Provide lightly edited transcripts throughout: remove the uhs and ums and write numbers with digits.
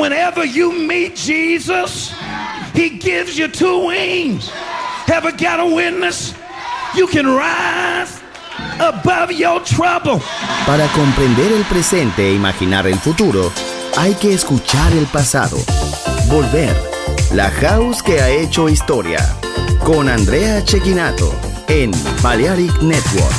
whenever you meet Jesus, he gives you two wings. Ever got a witness? You can rise above your trouble. Para comprender el presente e imaginar el futuro, hay que escuchar el pasado. Volver. La House que ha hecho historia. Con Andrea Cecchinato en Balearic Network.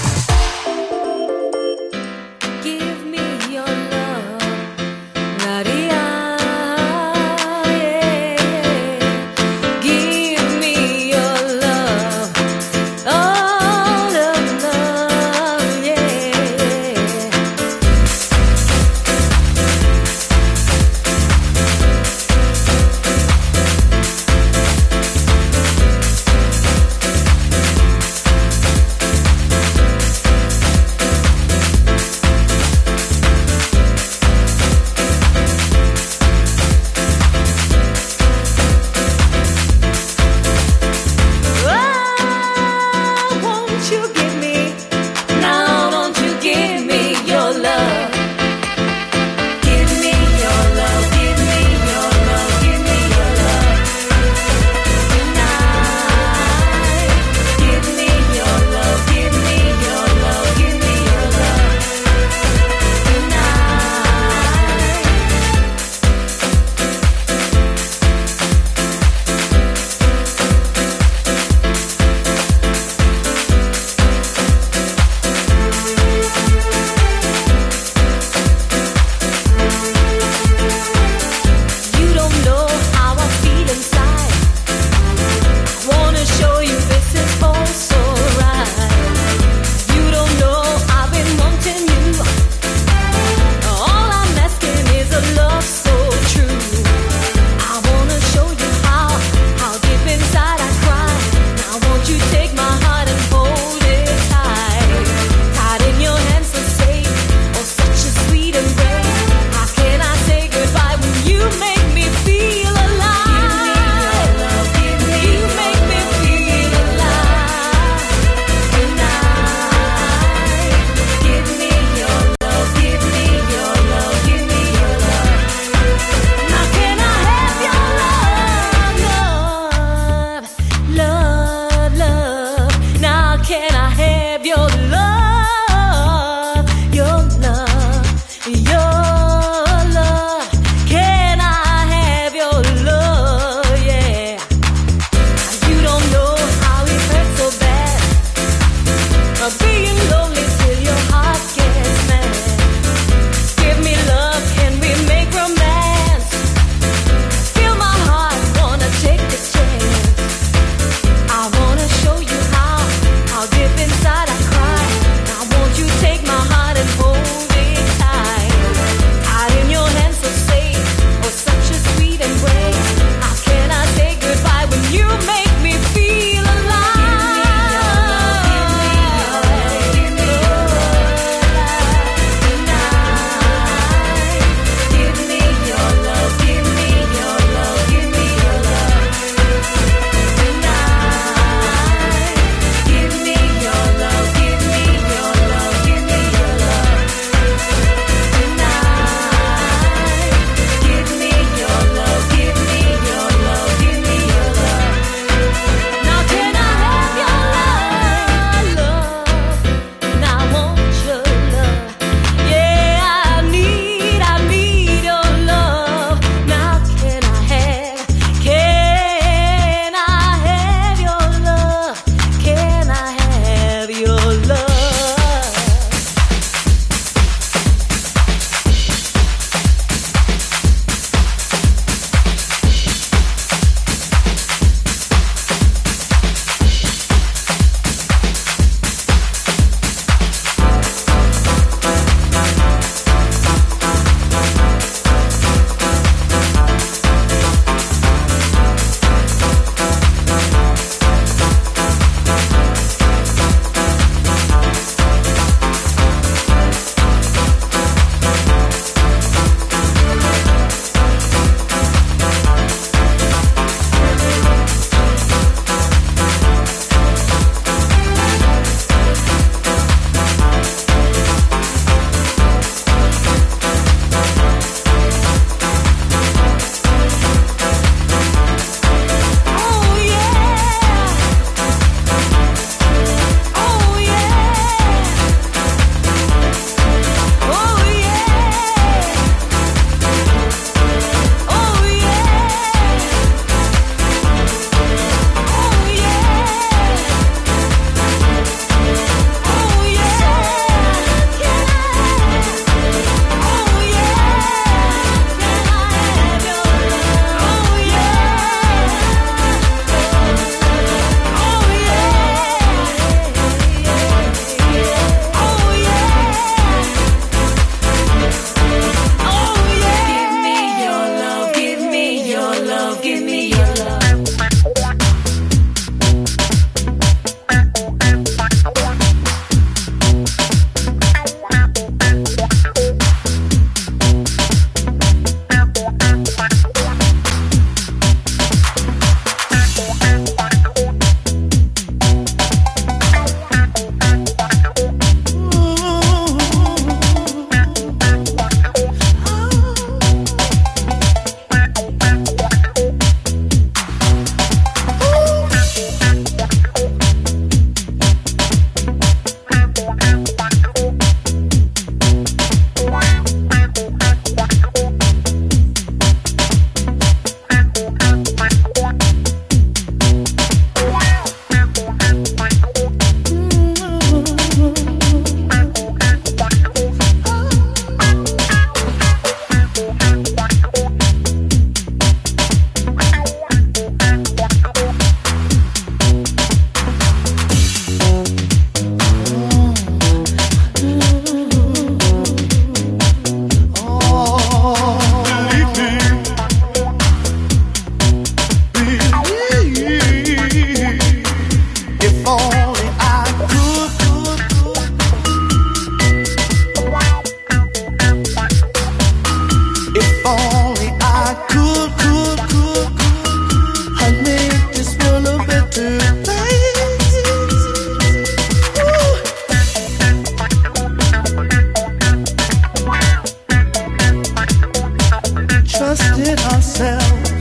trusted ourselves,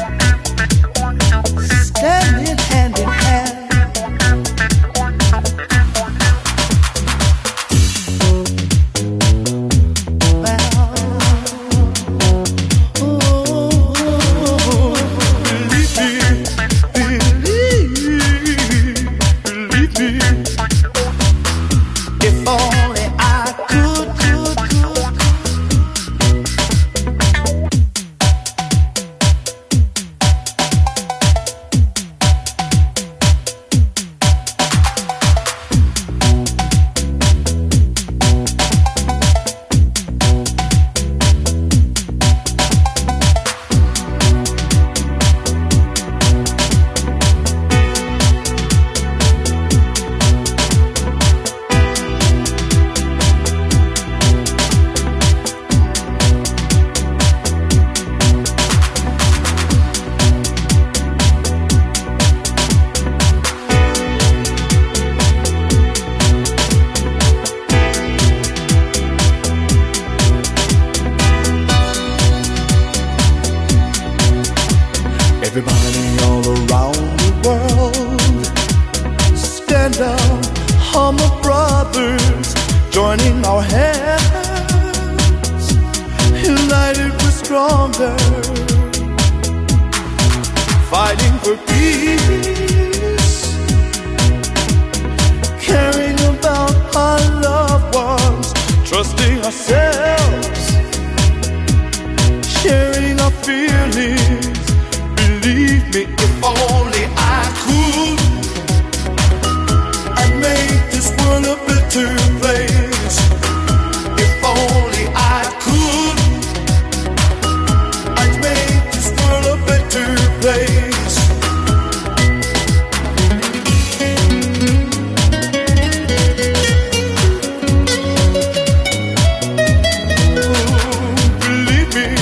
standing hand in hand. Everybody all around the world, stand up, Hummer brothers, joining our hands, united we're stronger, fighting for peace, caring about our loved ones, trusting ourselves, sharing our feelings. Believe me, if only I could, I'd make this world a better place. If only I could, I'd make this world a better place. Believe me,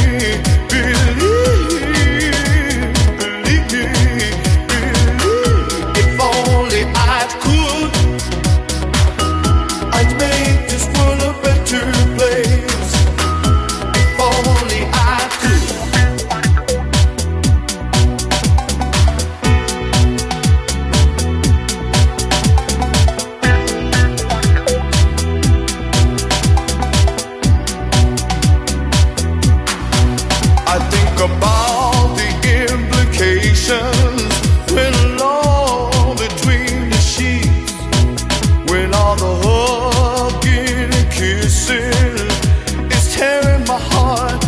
about the implications when alone between the sheets, when all the hugging and kissing is tearing my heart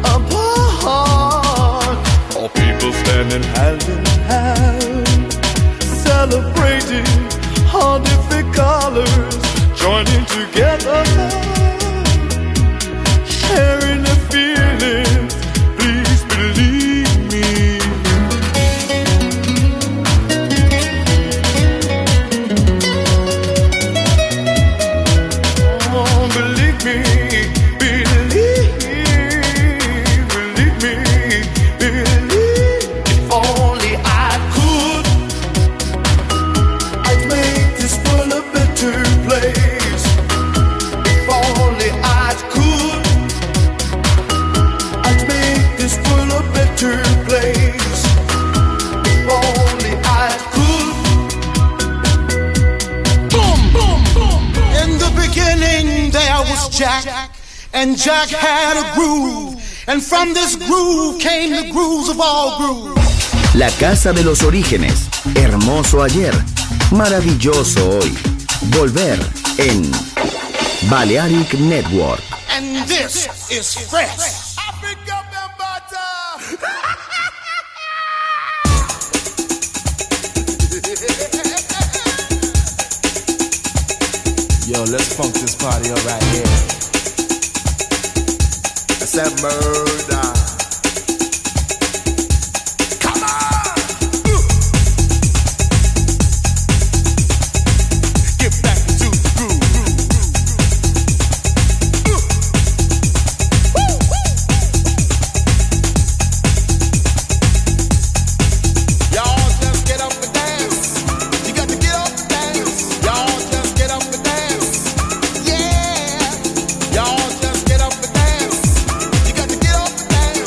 apart. All people standing hand in hand, celebrating all different colors, joining together, sharing the feelings. Believe me. Oh, believe me, believe me, believe. If only I could, I'd make this world a better place. If only I could, I'd make this world a better place. If only I could. Boom, boom, boom. In the beginning there was Jack, and Jack had a groove, and from this groove came the grooves of all grooves. La casa de los orígenes, hermoso ayer, maravilloso hoy. Volver en Balearic Network. And this is fresh. Yo, let's funk this party up right here. I said murder. Come on! Get back to the groove. Y'all just get up and dance. You got to get up and dance. Y'all just get up and dance. Yeah. Y'all just get up and dance. You got to get up and dance.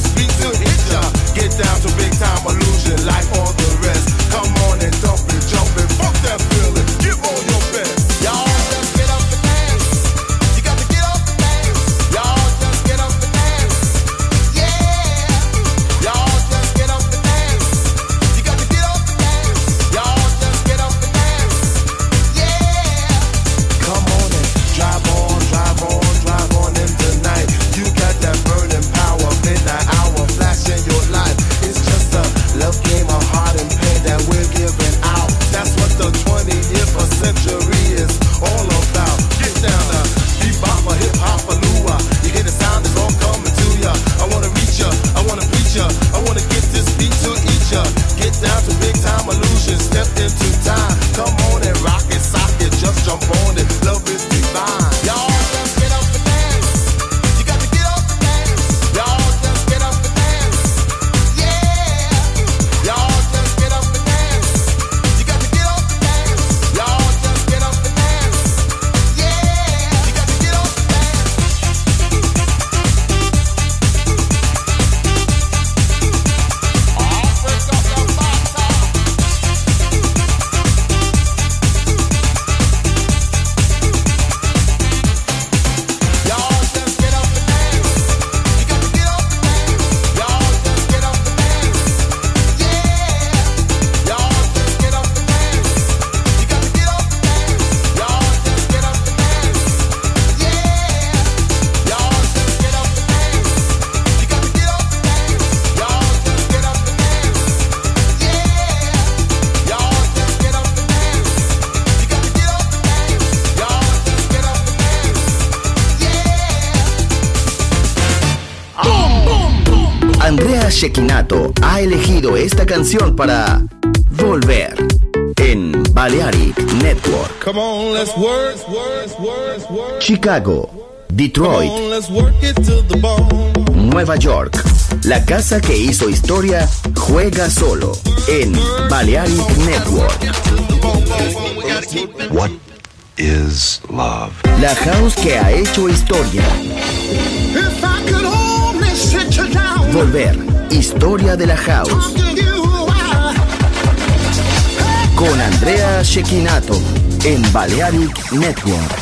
this beat to hit ya. Get down to big time illusion like all the rest. Come on and dump it, jump it, fuck that feeling. Give all your best. Y'all just get up and dance. You got to get up and dance. Y'all just get up and dance. Yeah. Y'all just get up and dance. You got to get up and dance. Y'all just get up and dance. Yeah. Come on and drive on, drive on, drive on in the night. You got that burning power, midnight hour, flash in your life. It's just a love game of heart and pain that we're giving out. That's what the 20th century is all about. Get down now, bebop or hip hop or lua. You hear the sound, it's all coming to ya. I wanna reach ya, I wanna preach ya, I wanna get this beat to eat ya. Get down to big time illusion, step into time. Come on and rock it, sock it, just jump on it. Love is divine. Y'all just get up and dance. You got to get up and dance. Y'all just get up and dance. Yeah. Y'all just get up and dance. You got to get up and dance. Y'all just get up and dance. Yeah. You got to get up and dance. Oh, break up your bata. Y'all just get up and dance. You got to get up and dance. Y'all just get up and dance. Yeah. Y'all just get up and dance. You got to get up and dance. Y'all just get up and dance. Yeah. Y'all just get up and dance. You got to get up and dance. Y'all just get up and dance. Yeah. Y'all just get up and dance. You got to get up and dance. Y'all just get up and dance. Andrea Cecchinato ha elegido esta canción para Volver en Balearic Network. Come on, let's work. Chicago, Detroit, Come on, let's work it to the bone. Nueva York. La casa que hizo historia juega solo en Balearic Network. What is love? La house que ha hecho historia. If I could only sit you down, Volver, historia de la house. talk to you a while. Con Andrea Cecchinato en Balearic Network.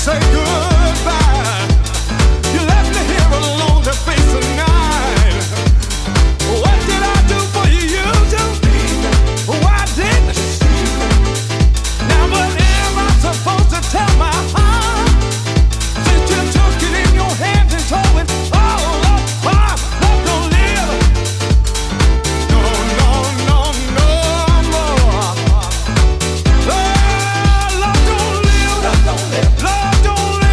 say goodbye. You left me here alone to face the night. What did I do for you? Why didn't you see? Now what am I supposed to tell my heart? Since you took it in your hands and told it all apart. Love don't live. No, no, no, no more. Oh, love don't live. Love don't live.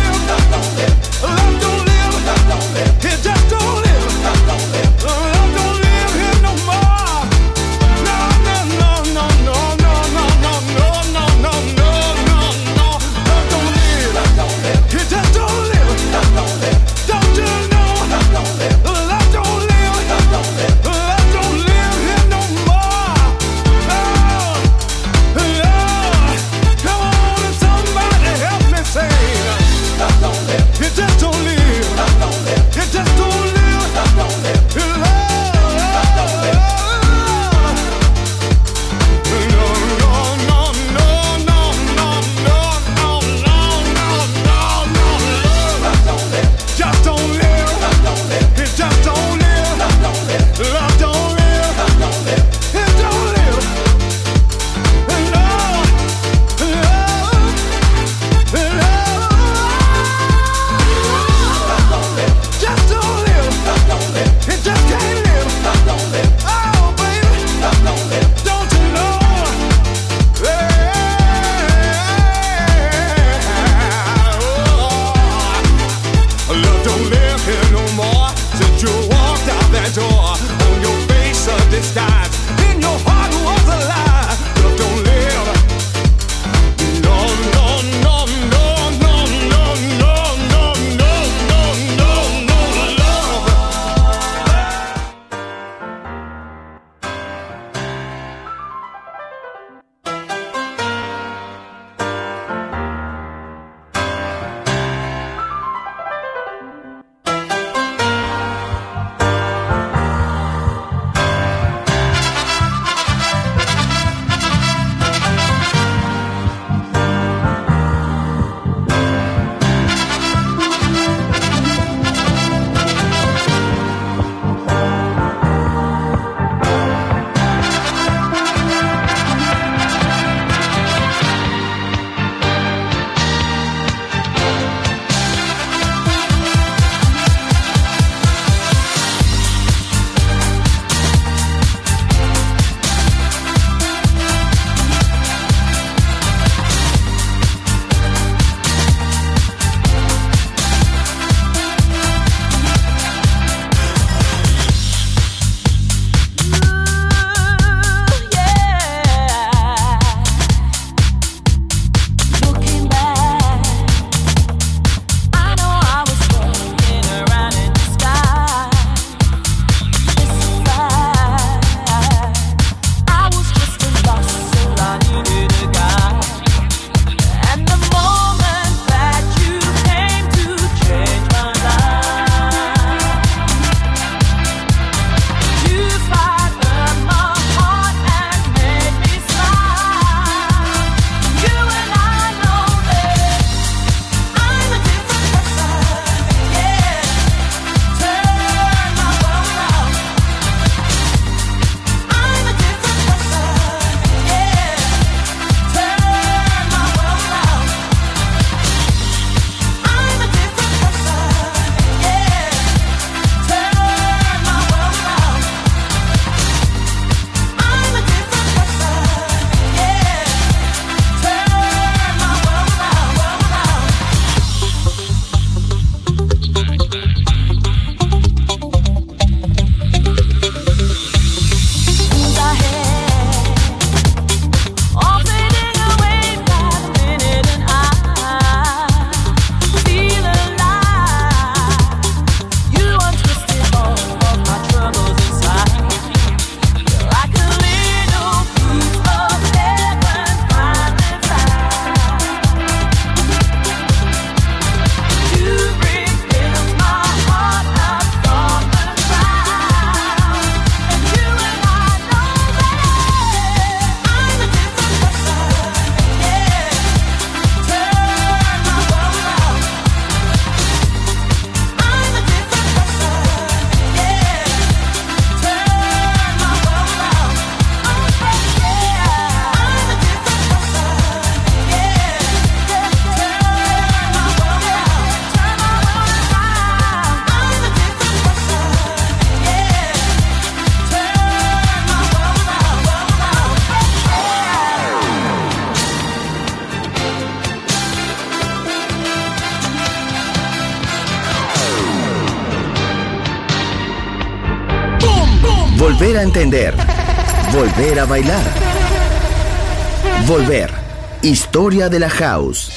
Volver a entender. Volver a bailar. Volver. Historia de la house.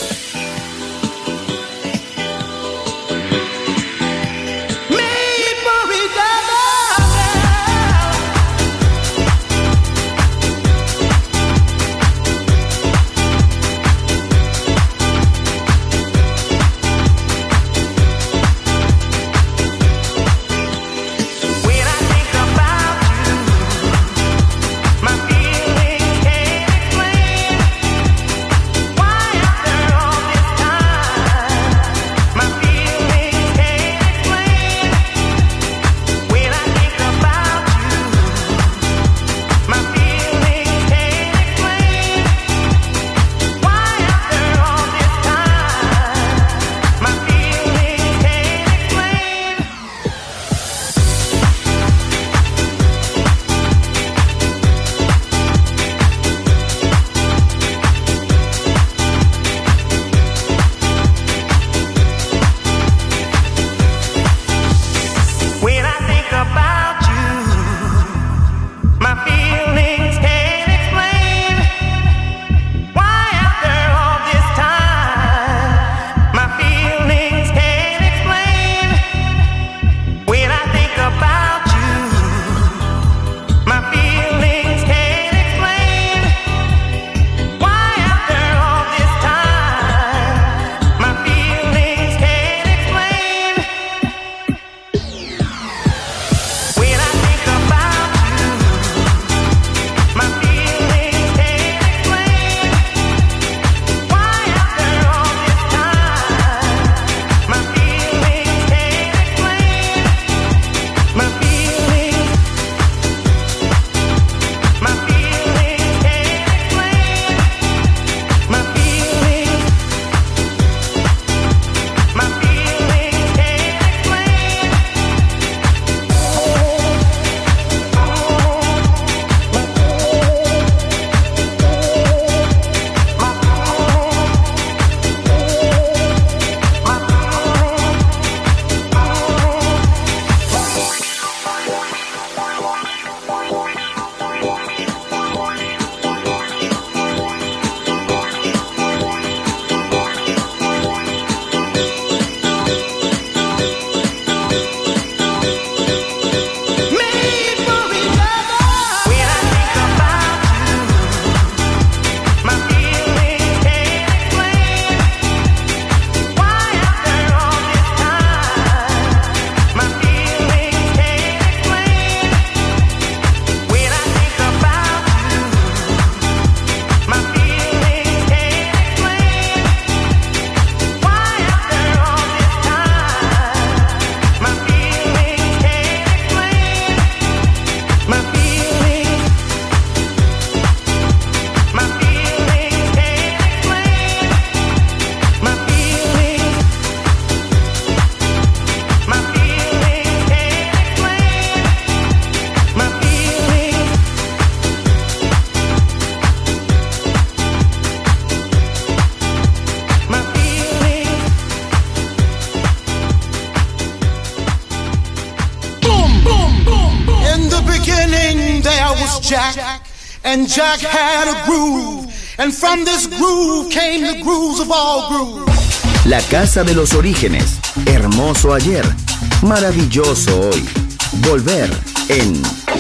Jack, and Jack had a groove, and from this groove came the grooves of all grooves. La casa de los orígenes, hermoso ayer, maravilloso hoy. Volver en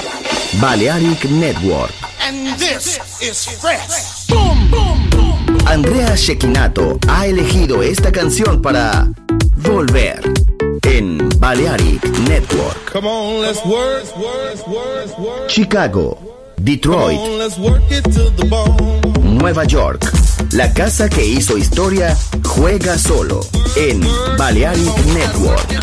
Balearic Network. And this is fresh. Boom, boom, boom. Andrea Cecchinato ha elegido esta canción para Volver en Balearic Network. Come on, let's work, work, work, work. Chicago, Detroit, Come on, let's work it to the bone. Nueva York. La casa que hizo historia juega solo en Balearic Network.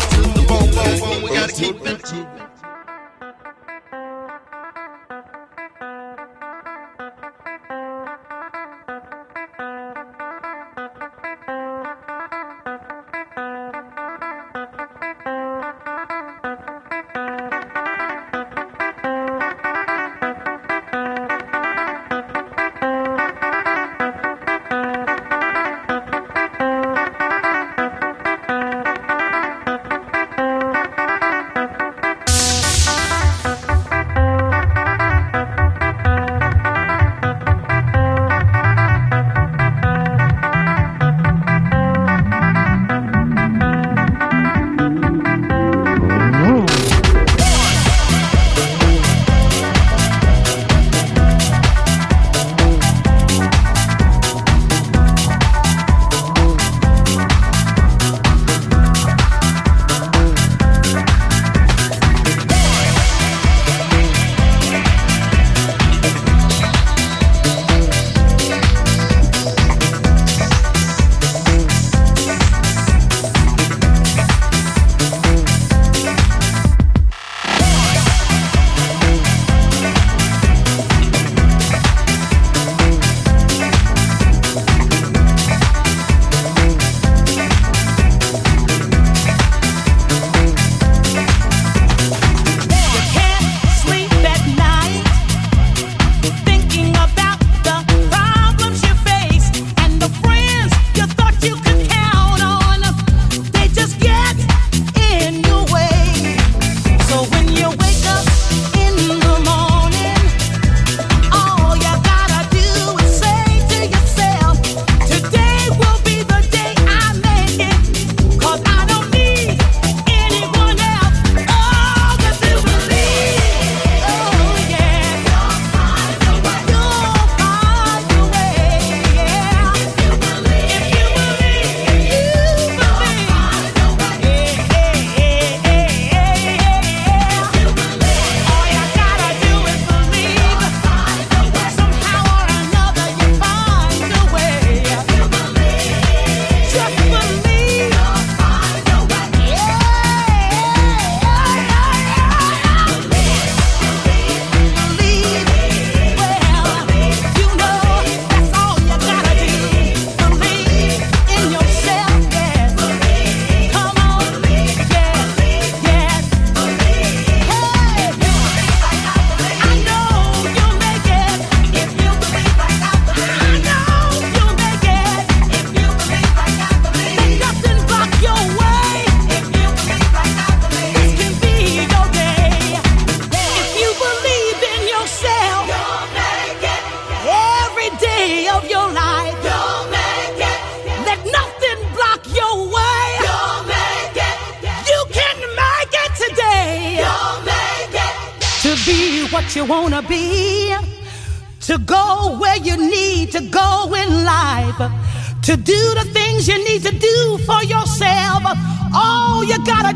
what you want to be, to go where you need to go in life, to do the things you need to do for yourself. All you gotta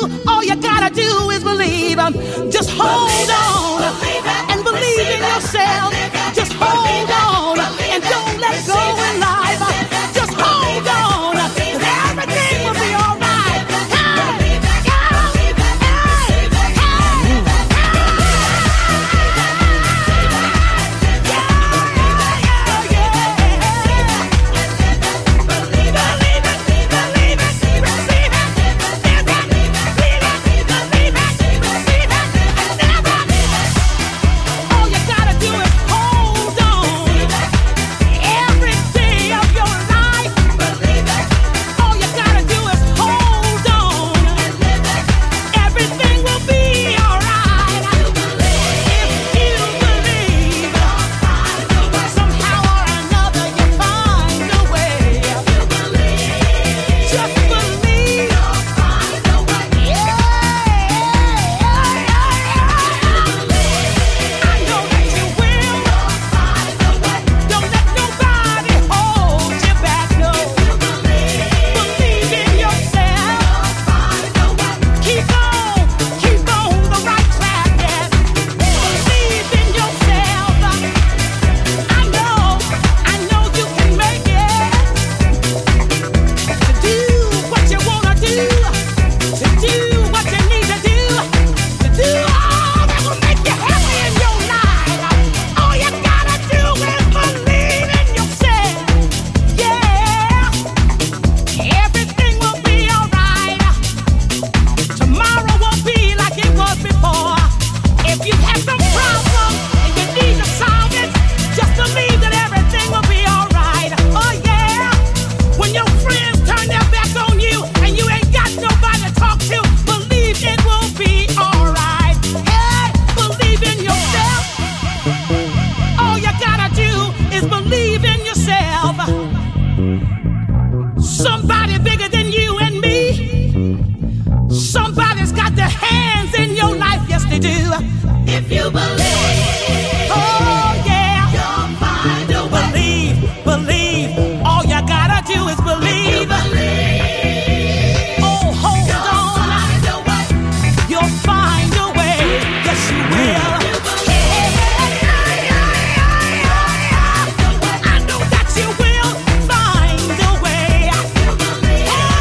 do is believe. Just hold on and believe in yourself. Just hold on and don't let go in life. Just hold on, 'cause everything will be all right.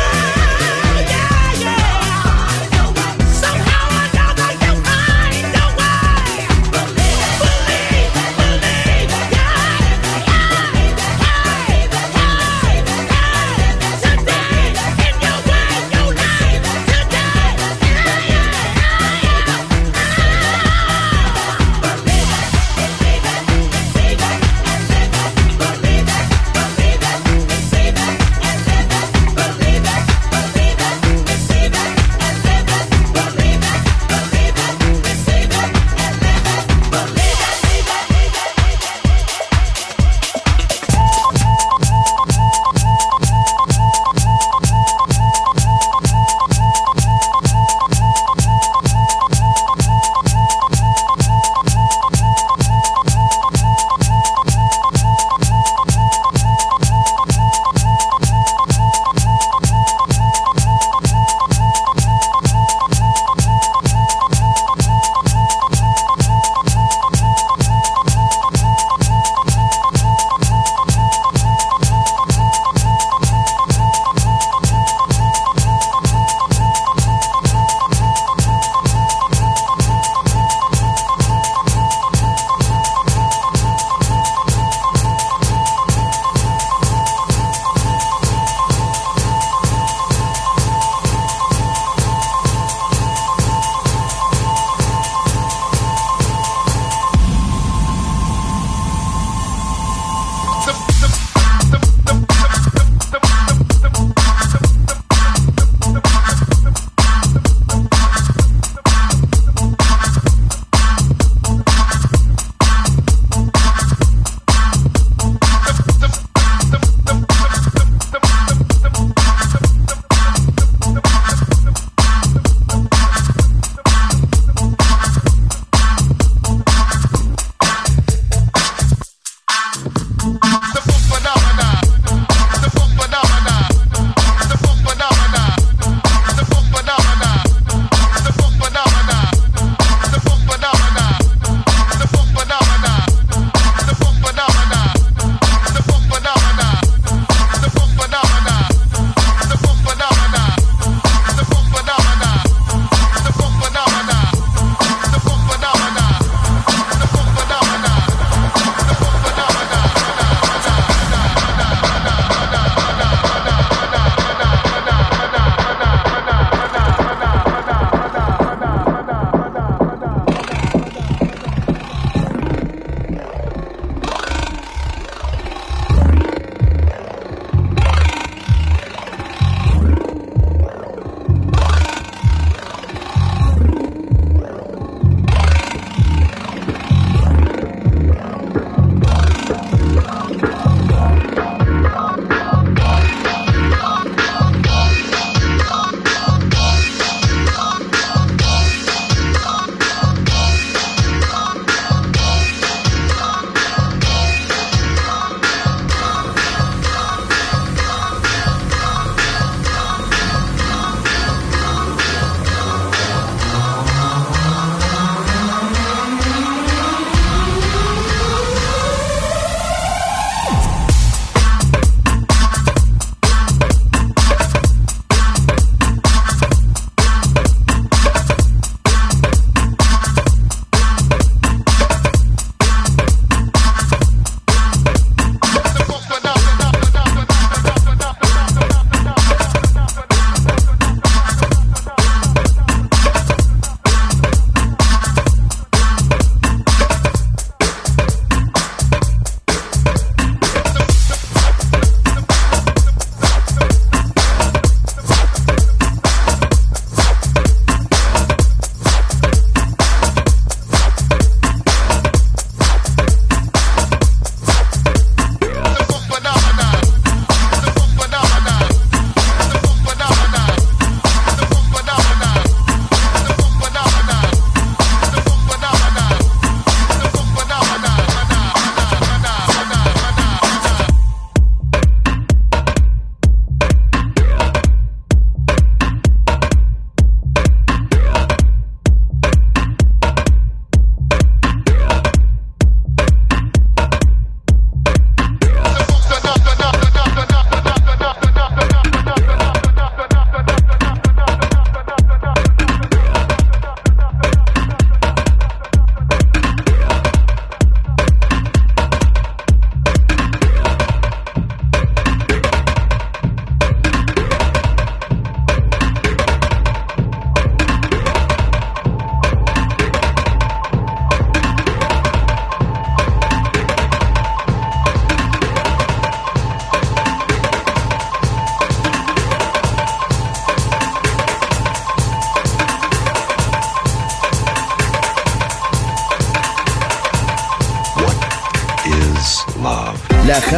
Somehow or another you'll find a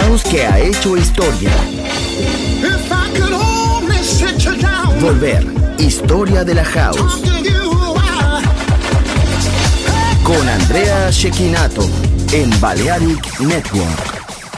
house que ha hecho historia. If I could only sit you down, Volver, historia de la house. talk to you, Con Andrea Cecchinato en Balearic Network.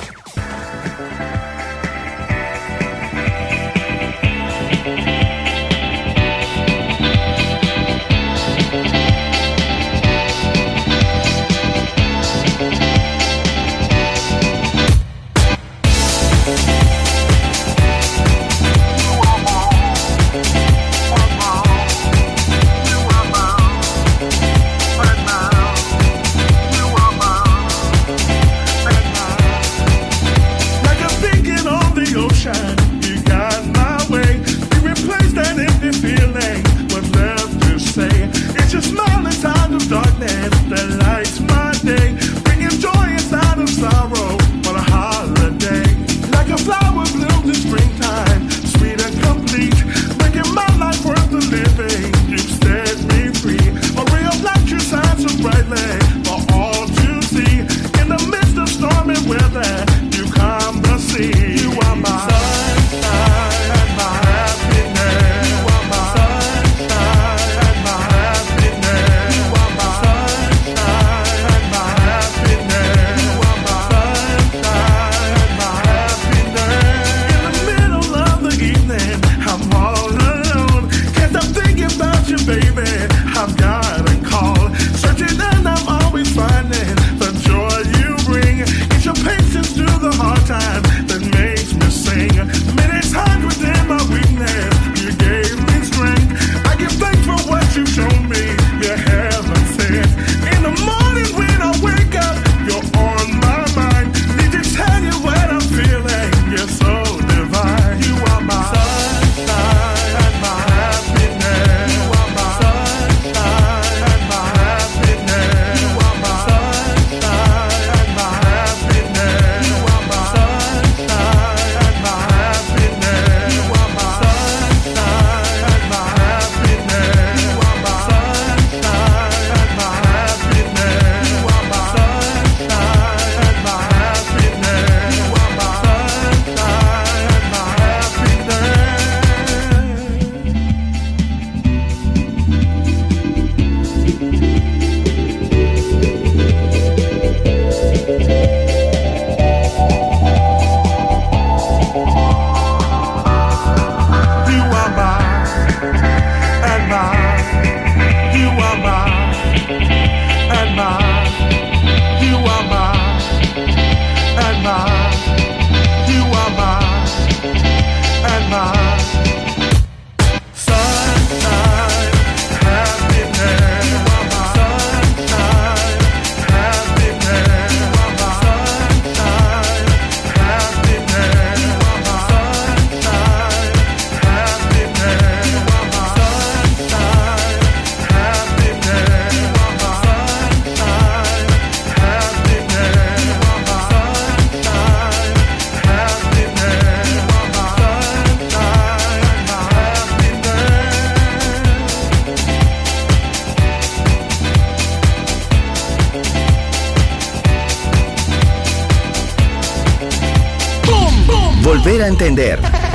Volver a entender.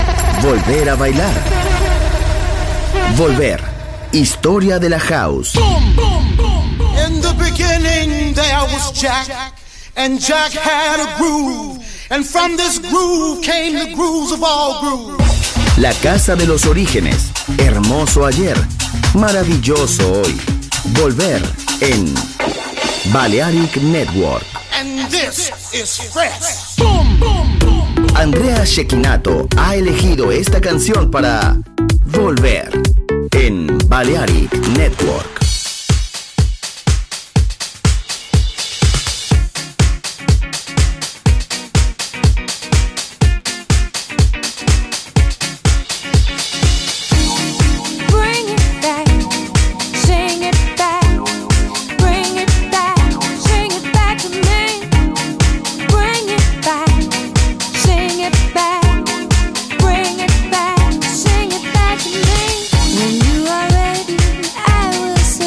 Volver a bailar. Volver. Historia de la house. In the beginning there was Jack, and Jack had a groove, and from this groove came the grooves of all grooves. La casa de los orígenes. Hermoso ayer. Maravilloso hoy. Volver en Balearic Network. And this is fresh. Andrea Cecchinato ha elegido esta canción para Volver en Balearic Network. When you are ready, I will sing.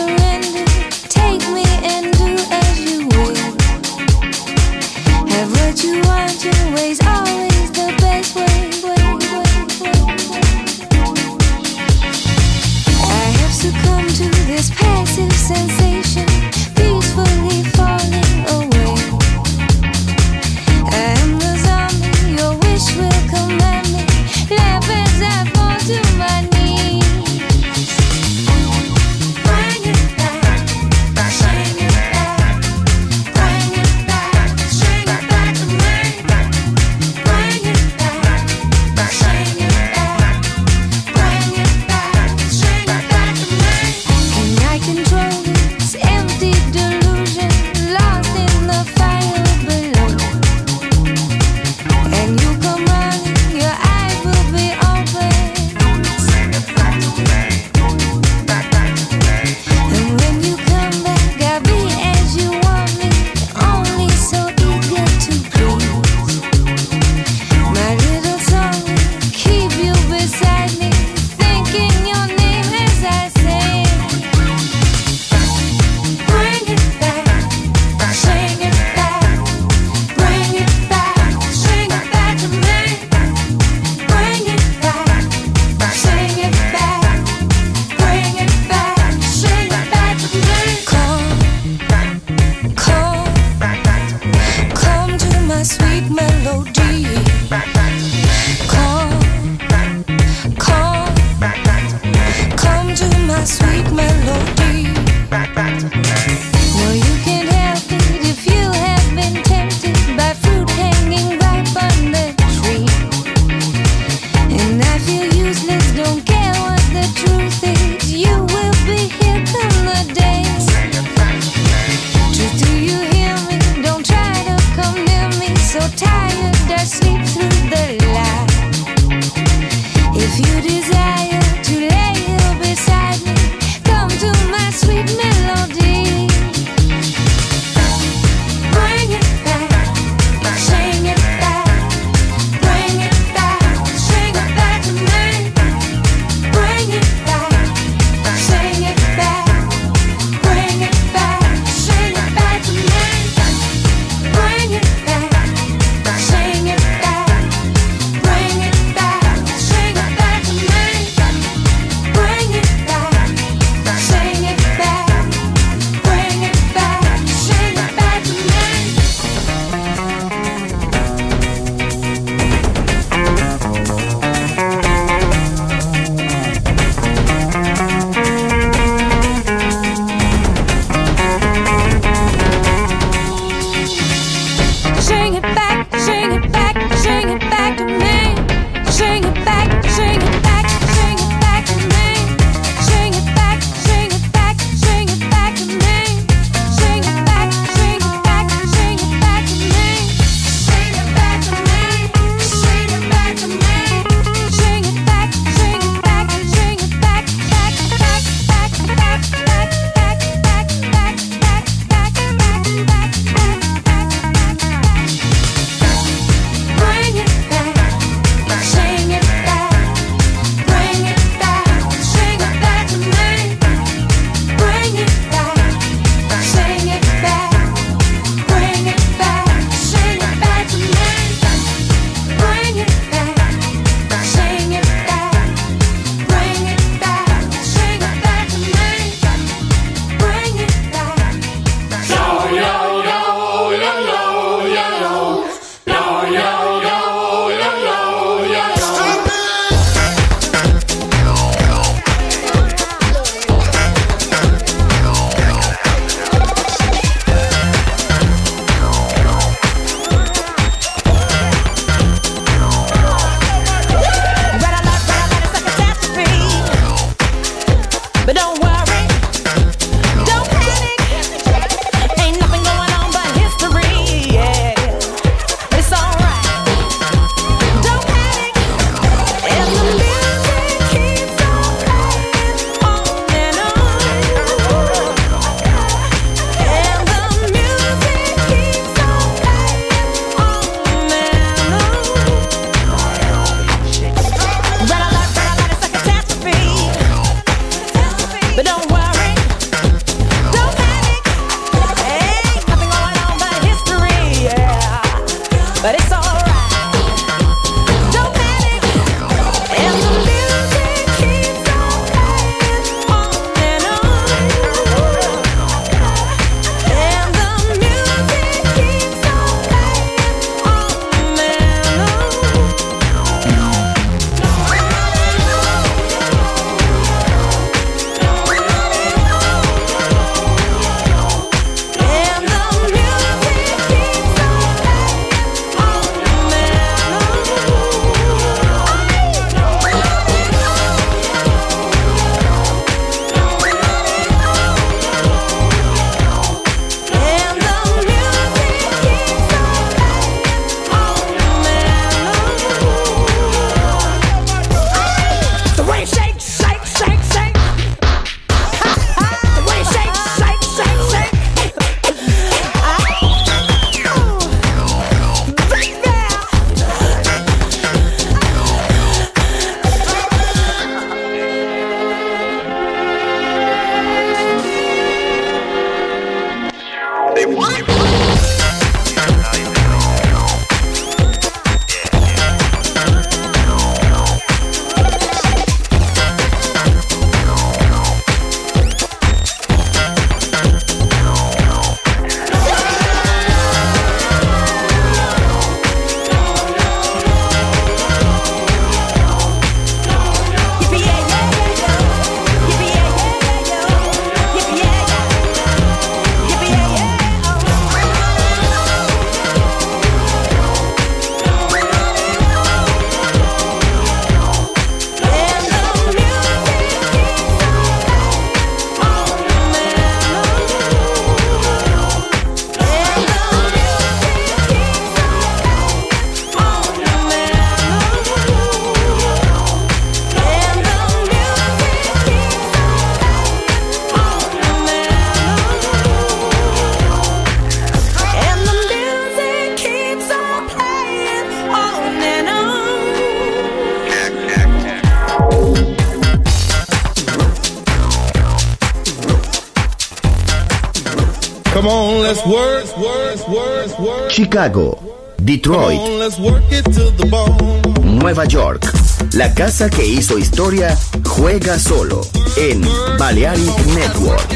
Come on, let's work. Chicago, Detroit, Come on, let's work it to the bone. Nueva York. La casa que hizo historia juega solo en Balearic Network.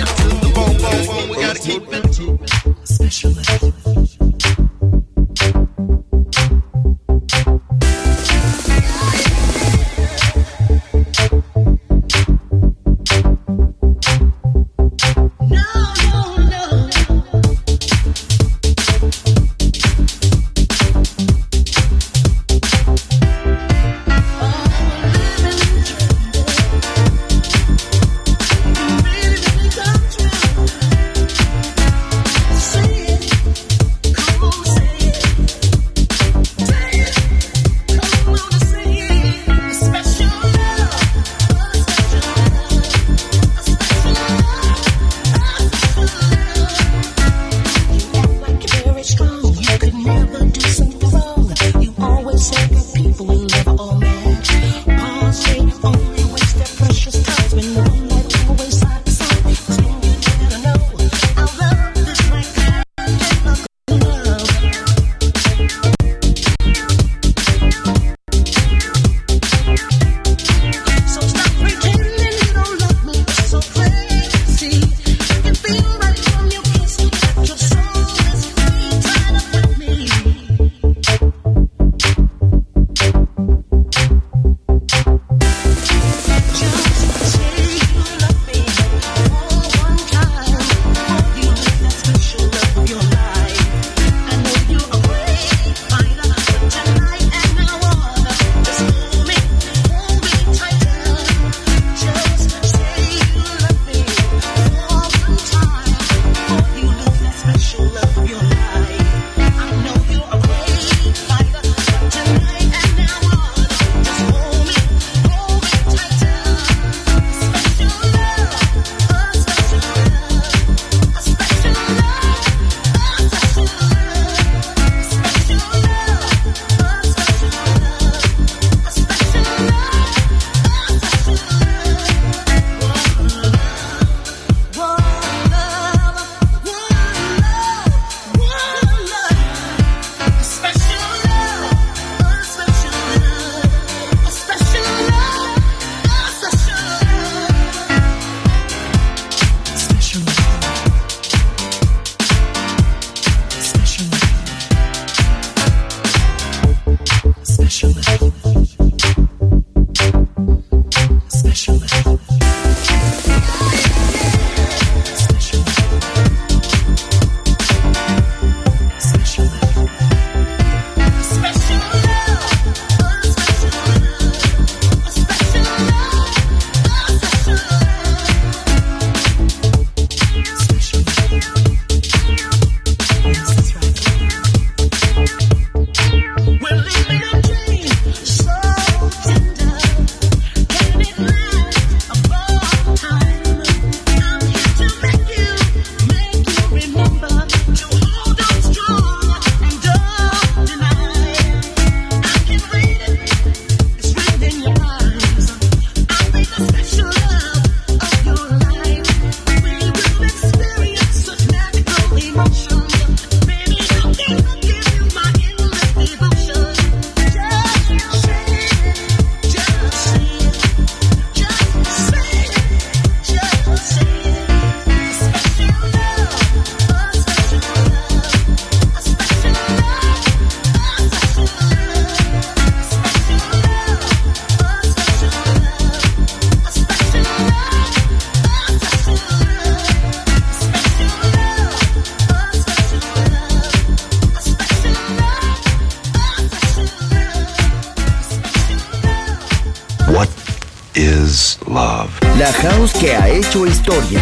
is love. La house que ha hecho historia.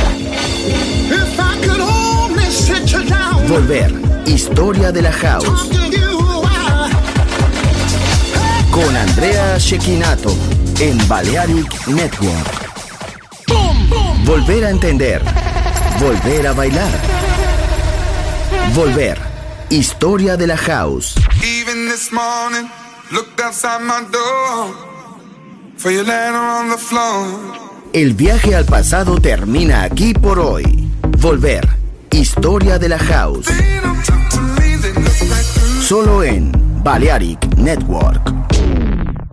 If I could only sit you down, Volver. Historia de la house. talk to you, Con Andrea Cecchinato en Balearic Network. Volver a entender. Volver a bailar. Volver. Historia de la house. Even this morning, looked outside my door for your letter on the floor. El viaje al pasado termina aquí por hoy. Volver. Historia historia de la house. Solo en Balearic Network.